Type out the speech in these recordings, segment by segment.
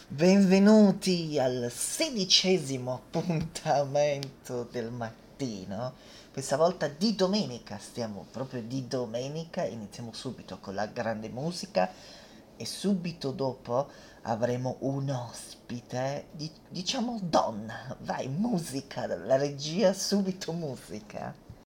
Benvenuti al 16° appuntamento del mattino, questa volta di domenica, stiamo proprio di domenica, iniziamo subito con la grande musica e subito dopo avremo un ospite, diciamo donna, vai musica, la regia subito musica.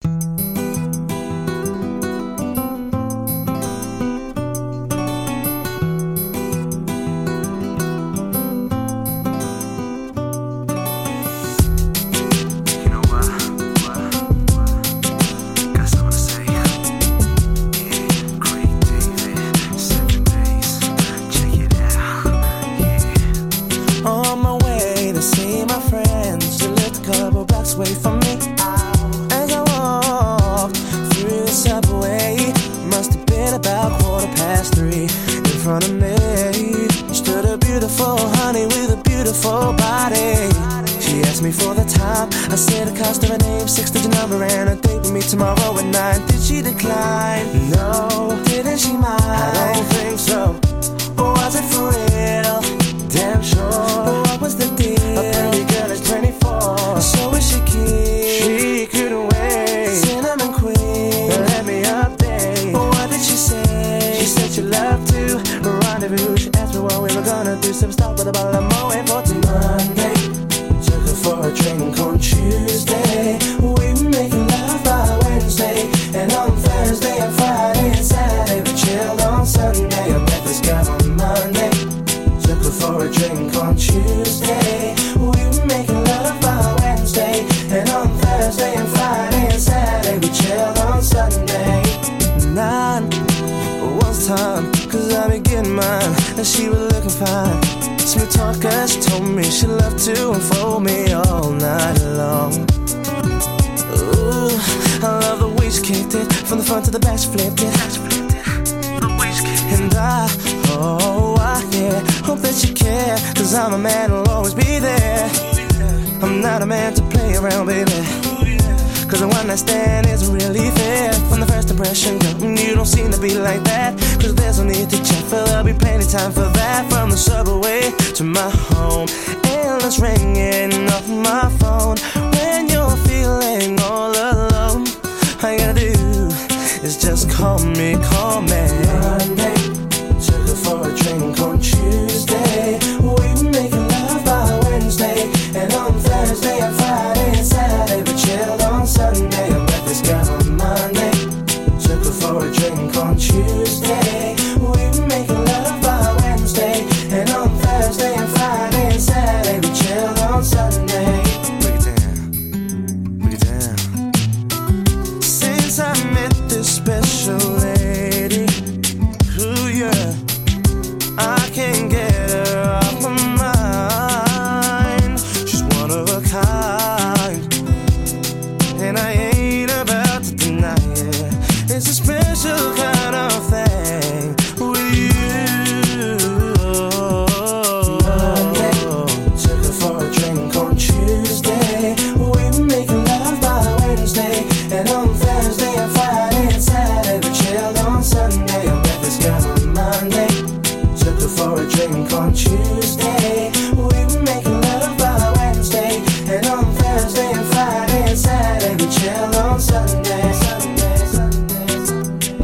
Away from me as I walked through the subway. Must have been about 3:15. In front of me stood a beautiful honey with a beautiful body. She asked me for the time. I said the cost of her name, 6-digit number, and a date with me tomorrow at 9. Did she decline? No. Didn't she mind? I don't think so. Or was it for real? Damn sure. What was the deal? A pretty girl is 24. So is she keen? She couldn't wait. Cinnamon queen, let me update. What did she say? She said she loved to rendezvous. She asked me what we were gonna do. Some stop with a bottle of Moët for Monday. Took her for a drink on Tuesday. We were making love by Wednesday. And on Thursday and Friday and Saturday we chilled on Sunday. I met this guy on Monday. Took her for a drink on Tuesday. We were making love by Wednesday. And on Thursday and Friday and Saturday we chilled on Sunday. 9 was time, cause I be getting mine. And she was looking fine. Smooth talker, she told me she loved to unfold me all night long. Ooh, I love the way she kicked it. From the front to the back she flipped it. And yeah, hope that you care. Cause I'm a man who'll always be there. I'm not a man to play around, baby. Cause a one night stand isn't really fair. From the first impression, girl, you don't seem to be like that. Cause there's no need to check, for there'll be plenty time for that. From the subway to my home, endless ringing off my phone. When you're feeling all alone, all you gotta do is just call me. Monday, took her for a drink on Tuesday. We were making love by Wednesday. And on Thursday and Friday and Saturday we chilled on Sunday. I met this guy on Monday. Took her for a drink on Tuesday. We were making love by Wednesday. And on Thursday and Friday and Saturday we chilled on Sunday. Break it down, break it down. Since I met this special lady, ooh yeah, I can't get her off my mind. She's one of a kind, and I ain't about to deny it. It's a special kind of thing with you. Monday, took her for a drink on Tuesday. We were making love by Wednesday. And on Thursday and Friday and Saturday we chilled on Sunday. I met this guy on Monday. Took her for a drink on Tuesday. We were making love by Wednesday. And on Thursday and Friday and Saturday we chilled on Sunday. Sunday, Sunday, Sunday.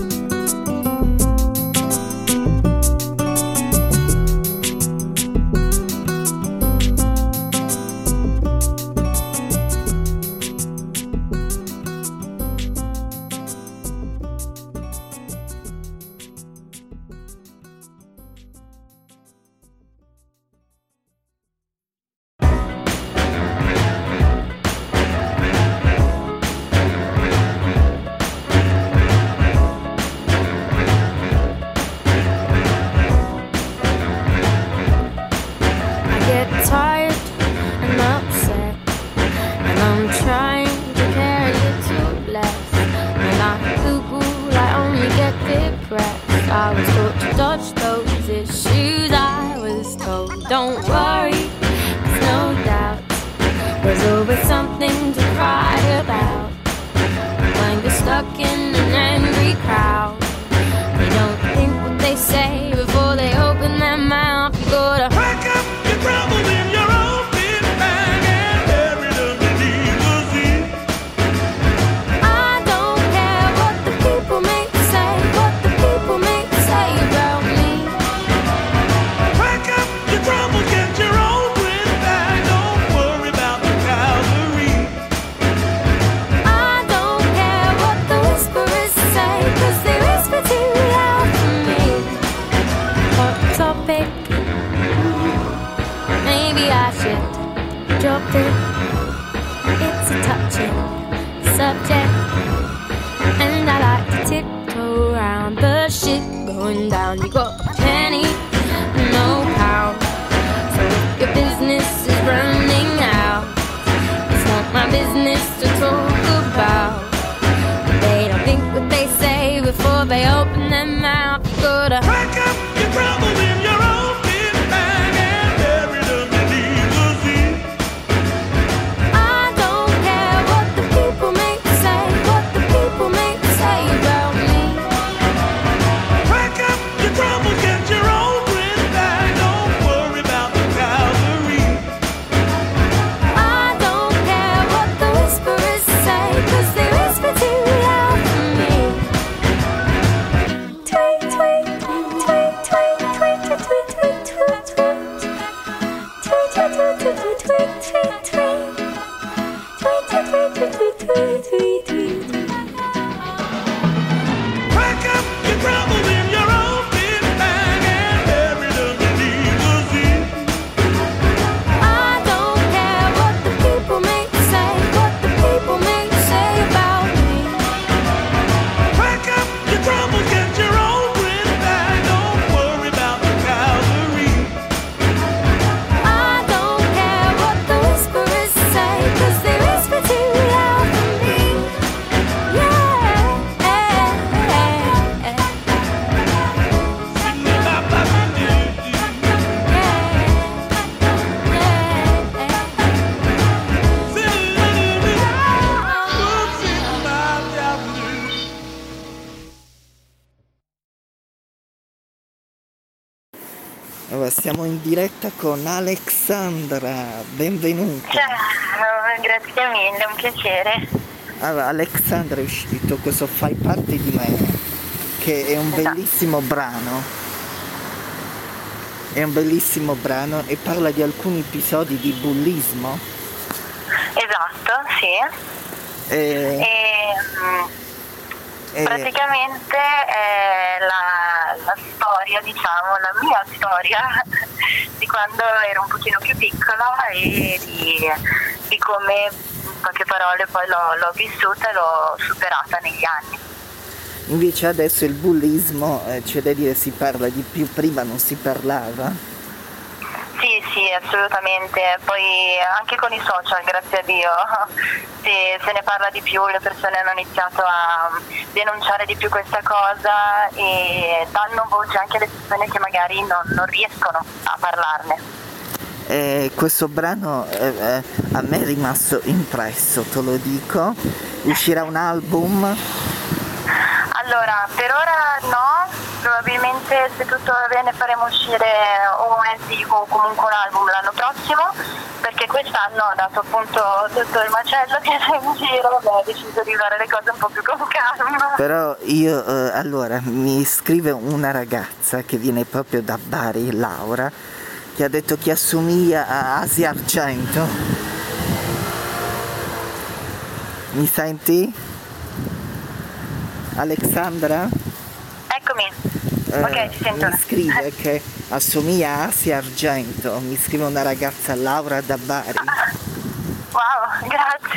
I was taught to dodge those issues. I was told, don't worry, there's no doubt. There's always something to cry about. When you're stuck in an angry crowd, they don't think what they say before they open their mouth. You gotta topic. Maybe I should drop it. It's a touching subject, and I like to tiptoe around the shit going down. You got a penny, no pound. So if your business is running out, it's not my business to talk about. They don't think what they say before they open their mouth. You gotta Pack up your trouble in your own big bag and bury them beneath the sea. I don't care what the people make say, what the people make say about me. Pack up your trouble, get your own grip bag. Don't worry about the Calvary. I don't care what the whisperers say, 'cause they whisper too loud for me. Tweet, tweet, tweet, tweet, tweet, tweet, tweet, tweet, tweet. Tweet, tweet, tweet, tweet, tweet, tweet, tweet, tweet. Tweet, tweet, tweet, tweet, tweet, tweet, tweet. Pack up your trouble in your own big bag and bury them beneath the sea. I don't care what the people make say, what the people make say about me. Pack up your trouble, get your own grip bag. Don't worry about the Calvary. I don't care what the whisperers say, 'cause they whisper too loud for me. Yeah. Allora, siamo in diretta con Alexandra, benvenuta. Ciao, grazie mille, un piacere. Allora, Alexandra, è uscito questo Fai parte di me, che è un bellissimo brano. È un bellissimo brano e parla di alcuni episodi di bullismo. Esatto, sì. E, Praticamente è la storia, diciamo, la mia storia di quando ero un pochino più piccola e di come, in poche parole, poi l'ho vissuta e l'ho superata negli anni. invece adesso il bullismo, c'è da dire, si parla di più, prima non si parlava. Sì, assolutamente. Poi anche con i social, grazie a Dio, se ne parla di più, le persone hanno iniziato a denunciare di più questa cosa e danno voce anche alle persone che magari non riescono a parlarne. Questo brano a me è rimasto impresso, te lo dico. Uscirà un album? Allora, per ora no, probabilmente se tutto va bene faremo uscire un EP o comunque un album l'anno prossimo, perché quest'anno, dato appunto tutto il macello che c'è in giro, ho deciso di fare le cose un po' più con calma. Però io, allora, mi scrive una ragazza che viene proprio da Bari, Laura, che ha detto che assomiglia a Asia Argento. Mi senti? Alexandra? Eccomi, ok, ci sento. Mi scrive che assomiglia a Asia Argento, mi scrive una ragazza, Laura da Bari. Wow,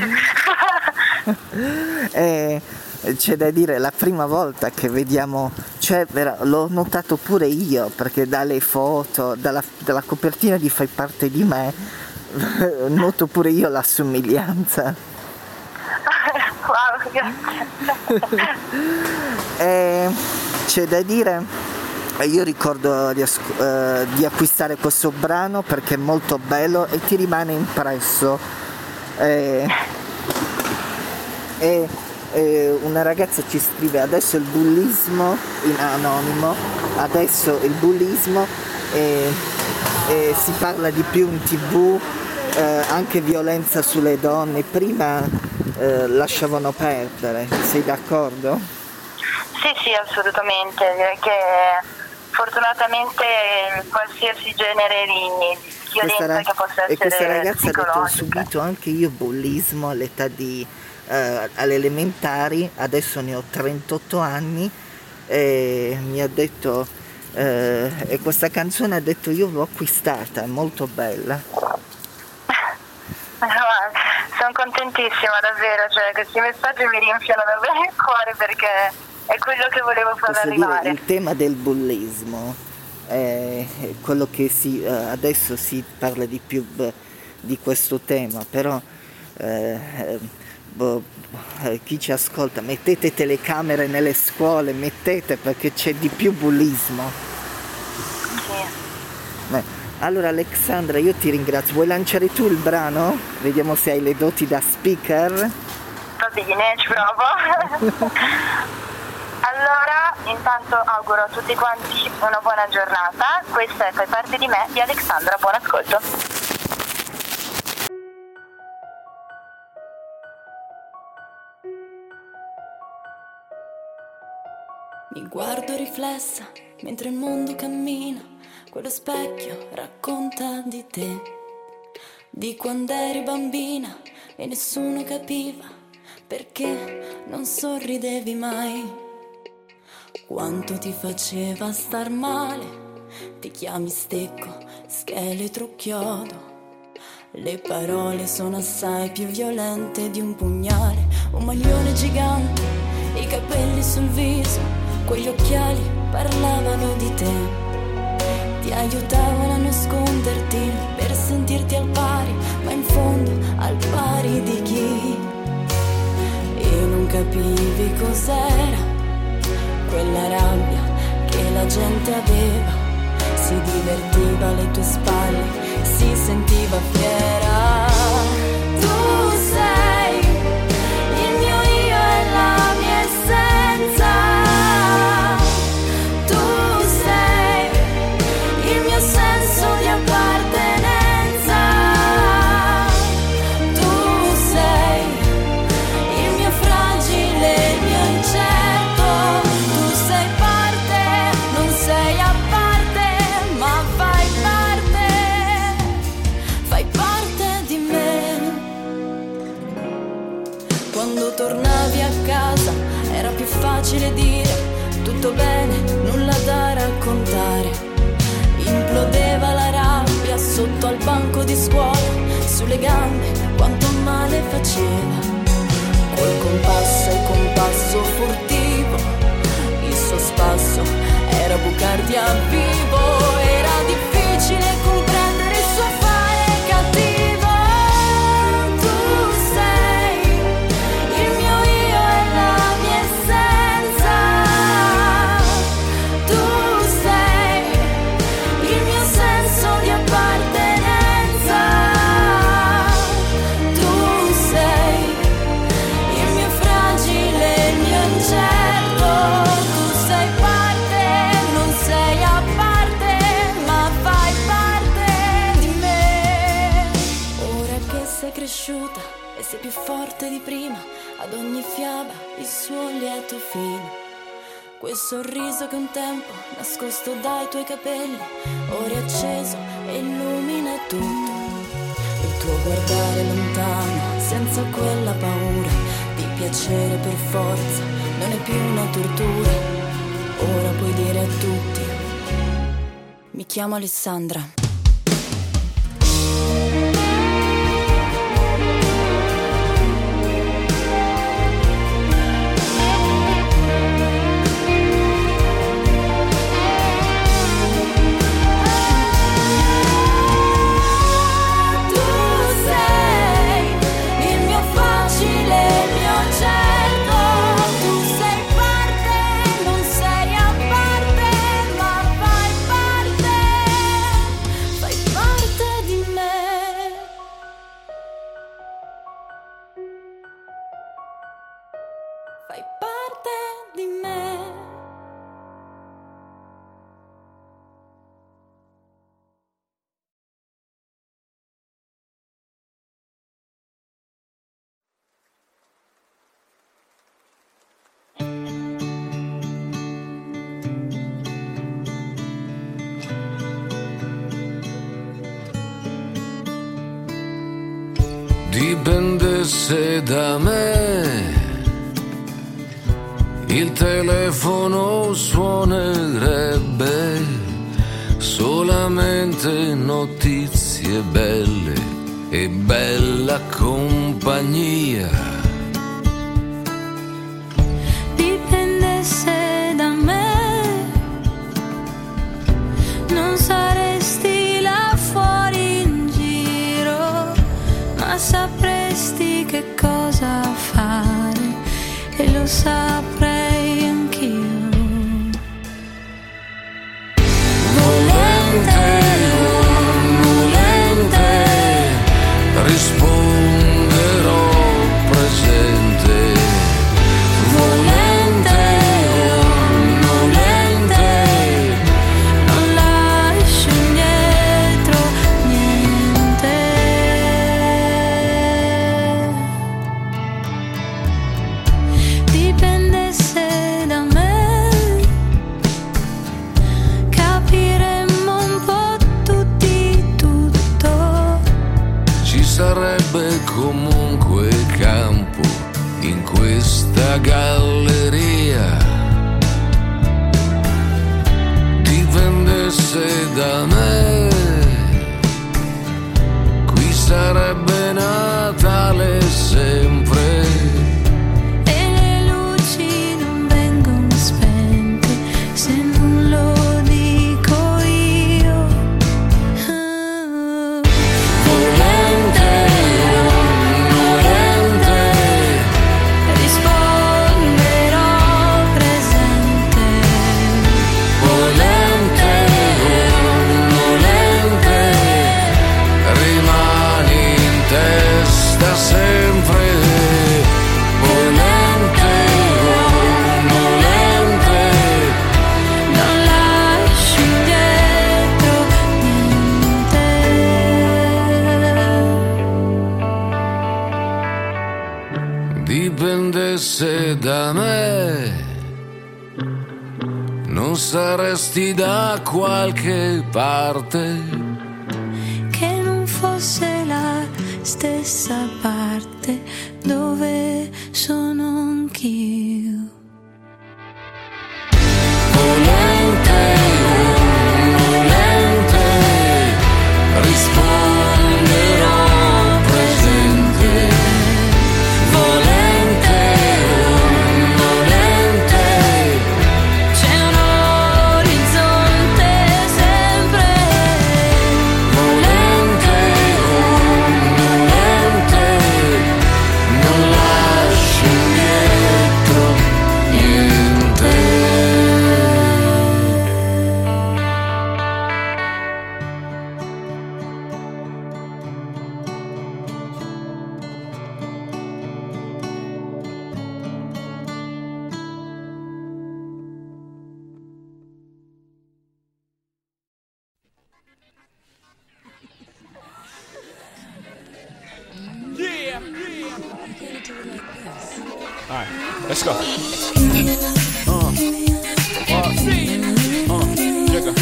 grazie. C'è da dire, la prima volta che vediamo, cioè l'ho notato pure io, perché dalle foto, dalla copertina di Fai parte di me, noto pure io la somiglianza. Wow, grazie. C'è da dire, io ricordo di acquistare questo brano perché è molto bello e ti rimane impresso. Una ragazza ci scrive adesso il bullismo, in anonimo, adesso il bullismo si parla di più in TV, anche violenza sulle donne, prima lasciavano perdere, sei d'accordo? Sì, assolutamente, direi che fortunatamente qualsiasi genere di violenza che possa essere e questa ragazza ha detto: ho psicologica. subito anche io bullismo all'età alle elementari, adesso ne ho 38 anni e mi ha detto e questa canzone ha detto io l'ho acquistata, è molto bella. Sono contentissima davvero, cioè questi messaggi mi riempiono davvero il cuore perché è quello che volevo far arrivare. Il tema del bullismo è quello che adesso si parla di più di questo tema, però chi ci ascolta, mettete telecamere nelle scuole, mettete, perché c'è di più bullismo. Sì. Allora Alexandra, io ti ringrazio. Vuoi lanciare tu il brano? Vediamo se hai le doti da speaker. Va bene, ci provo. Allora, intanto auguro a tutti quanti una buona giornata. Questa è Fai parte di me di Alexandra, buon ascolto. Mi guardo riflessa mentre il mondo cammina, quello specchio racconta di te, di quando eri bambina e nessuno capiva perché non sorridevi mai, quanto ti faceva star male, ti chiami stecco, scheletro, chiodo, le parole sono assai più violente di un pugnale, un maglione gigante, i capelli sul viso, quegli occhiali parlavano di te, ti aiutavano a nasconderti per sentirti al pari, ma in fondo al pari di chi? E non capivi cos'era quella rabbia che la gente aveva, si divertiva alle tue spalle, si sentiva fiera. Tu sei il mio io e la mia essenza. Tornavi a casa, era più facile dire tutto bene, nulla da raccontare. Implodeva la rabbia sotto al banco di scuola, sulle gambe quanto male faceva. Col compasso e compasso furtivo, il suo spasso era bucarti a vivo, era difficile comprendere il suo fare cattivo. E sei più forte di prima, ad ogni fiaba il suo lieto fine. Quel sorriso che un tempo nascosto dai tuoi capelli, ora è acceso e illumina tutto. Il tuo guardare lontano, senza quella paura di piacere per forza, non è più una tortura. Ora puoi dire a tutti, mi chiamo Alessandra. Dipendesse da me, il telefono suonerebbe solamente notizie belle e bella compagnia. Dipendesse da me, non saresti là fuori in giro, ma sapresti che cosa fare e lo saprei anch'io. Risponderò presente, volente o nolente, non lascio indietro niente. Dipendesse da me, capiremmo un po' tutti tutto. ci sarebbe comunque campo in questa galleria. Dipendesse da me, qui sarebbe Natale sempre. E le luci non vengono spente se non lo dico io. Volente o nolente, Risponderò presente. volente o nolente, rimani in testa sempre. Volente o nolente, Non lascio indietro niente. dipendesse da me, non saresti da qualche parte. Che non fosse la stessa parte dove sono anch'io. Volente o nolente, risponderò presente. Volente o nolente, C'è un orizzonte sempre. volente o nolente, non lascio indietro niente. All right, let's go. Jigga.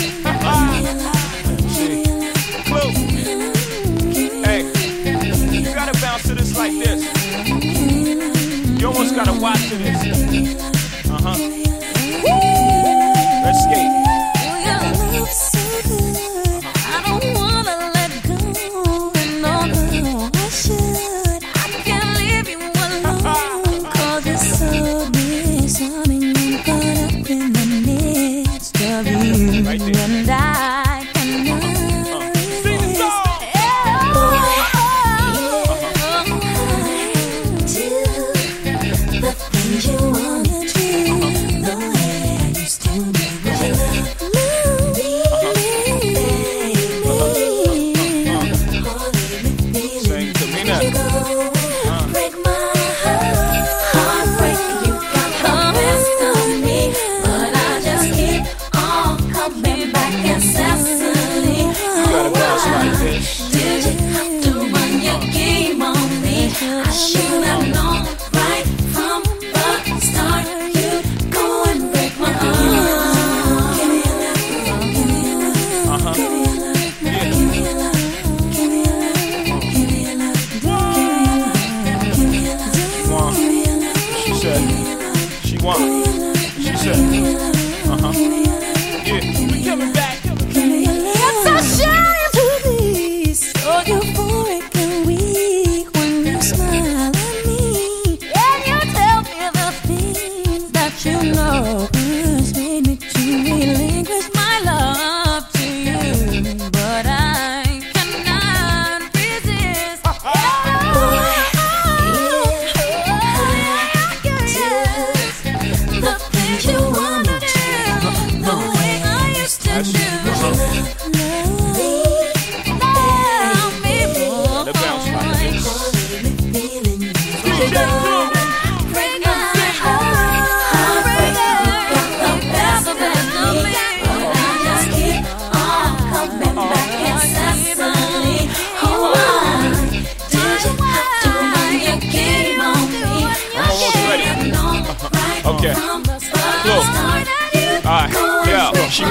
See, Blue. Hey, you gotta bounce to this like this. You almost gotta watch to this. Let's skate. I don't wanna let go. No, I should. I can't leave you alone. 'Cause it's so disarming and caught up in the midst of you. Right there. And I cannot Sing the song. do the things you wanna do.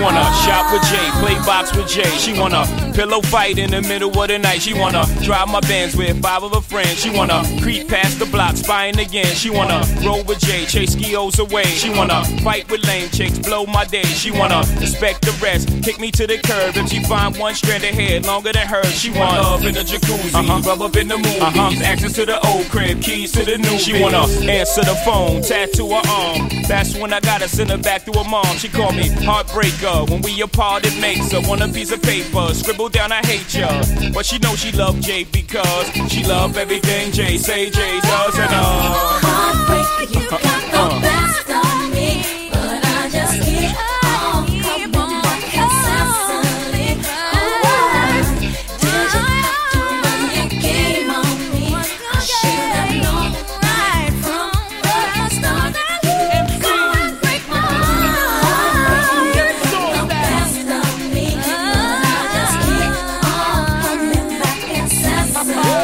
wanna shop with Jay, play box with Jay. She wanna pillow fight in the middle of the night. She wanna drive my Benz with 5 of her friends. She wanna creep past the block, spying again. She wanna roll with Jay, chase skios away. She wanna fight with lame chicks, blow my day. She wanna respect the rest, kick me to the curb. If she find one strand of hair longer than hers, she want love in the jacuzzi, rub up in the movies, access to the old crib, keys to the new. She wanna answer the phone, tattoo her arm. That's when I gotta send her back to her mom. She called me heartbreaker. When we apart, it makes her want a piece of paper. Scribble down, I hate ya. But she knows she love Jay because she love everything Jay say Jay does. And heartbreaker, you got the best of me, but I just keep on coming back incessantly. Did you have to run your game on me? I should have known right from the start that you go and break my heart. You got the best of me, but I just keep on coming back incessantly.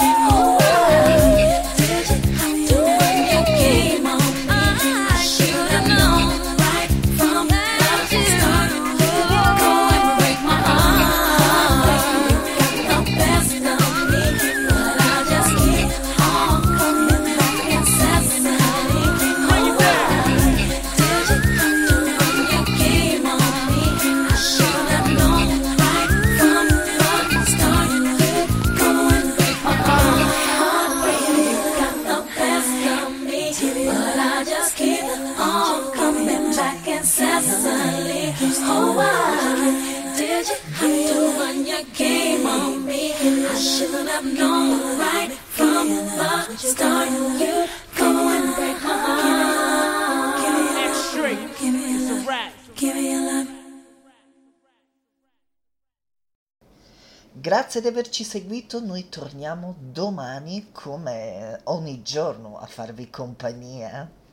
Oh, why did you have to run your game on me? I should have known right from the start. You go and break my heart. Give me your love. Give me your love. Give me your love. Grazie di averci seguito, noi torniamo domani come ogni giorno a farvi compagnia.